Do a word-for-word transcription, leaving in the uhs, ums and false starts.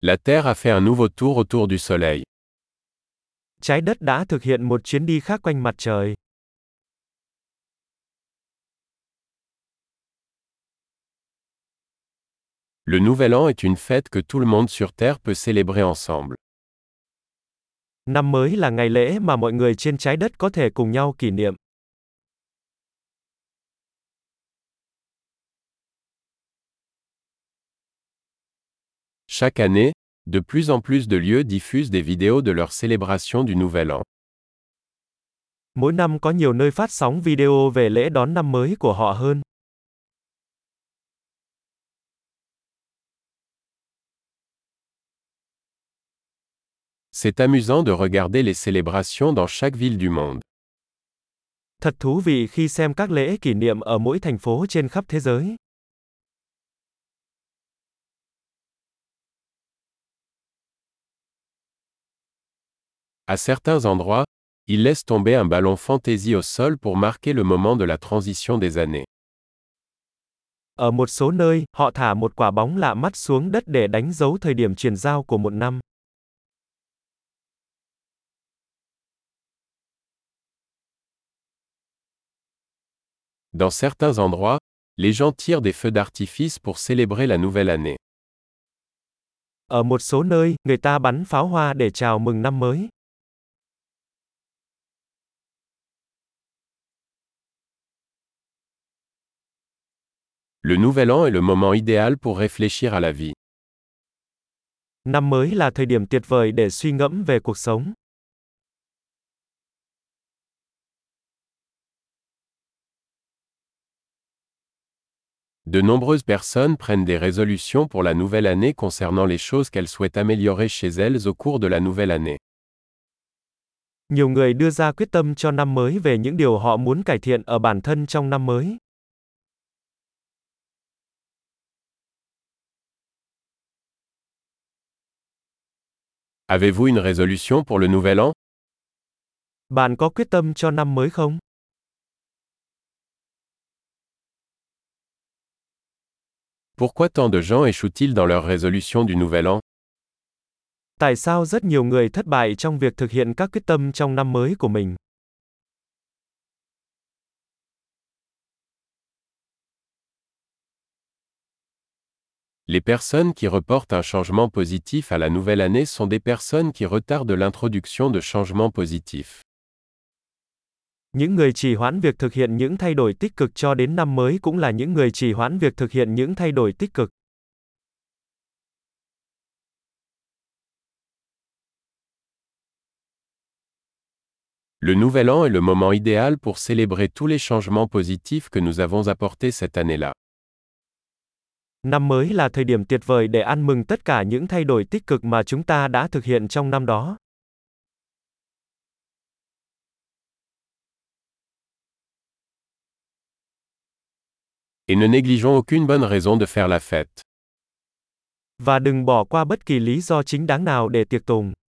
La Terre a fait un nouveau tour autour du Soleil. Trái đất đã thực hiện một chuyến đi khác quanh mặt trời. Le Nouvel An est une fête que tout le monde sur Terre peut célébrer ensemble. Năm mới là ngày lễ mà mọi người trên trái đất có thể cùng nhau kỷ niệm. Chaque année, de plus en plus de lieux diffusent des vidéos de leur célébration du Nouvel An. Mỗi năm có nhiều nơi phát sóng video về lễ đón năm mới của họ hơn. C'est amusant de regarder les célébrations dans chaque ville du monde. Thật thú vị khi xem các lễ kỷ niệm ở mỗi thành phố trên khắp thế giới. À certains endroits, ils laissent tomber un ballon fantaisie au sol pour marquer le moment de la transition des années. Ở một số nơi, họ thả một quả bóng lạ mắt xuống đất để đánh dấu thời điểm chuyển giao của một năm. Dans certains endroits, les gens tirent des feux d'artifice pour célébrer la nouvelle année. Ở một số nơi, người ta bắn pháo hoa để chào mừng năm mới. Le Nouvel An est le moment idéal pour réfléchir à la vie. Năm mới là thời điểm tuyệt vời để suy ngẫm về cuộc sống. De nombreuses personnes prennent des résolutions pour la nouvelle année concernant les choses qu'elles souhaitent améliorer chez elles au cours de la nouvelle année. Nhiều người đưa ra quyết tâm cho năm mới về những điều họ muốn cải thiện ở bản thân trong năm mới. Avez-vous une résolution pour le Nouvel An? Bạn có quyết tâm cho năm mới không? Pourquoi tant de gens échouent-ils dans leur résolution du Nouvel An? Tại sao rất nhiều người thất bại trong việc thực hiện các quyết tâm trong năm mới của mình? Les personnes qui reportent un changement positif à la nouvelle année sont des personnes qui retardent l'introduction de changements positifs. Những người trì hoãn việc thực hiện những thay đổi tích cực cho đến năm mới cũng là những người trì hoãn việc thực hiện những thay đổi tích cực. Le Nouvel An est le moment idéal pour célébrer tous les changements positifs que nous avons apportés cette année-là. Năm mới là thời điểm tuyệt vời để ăn mừng tất cả những thay đổi tích cực mà chúng ta đã thực hiện trong năm đó. Et ne négligeons aucune bonne raison de faire la fête. Và đừng bỏ qua bất kỳ lý do chính đáng nào để tiệc tùng.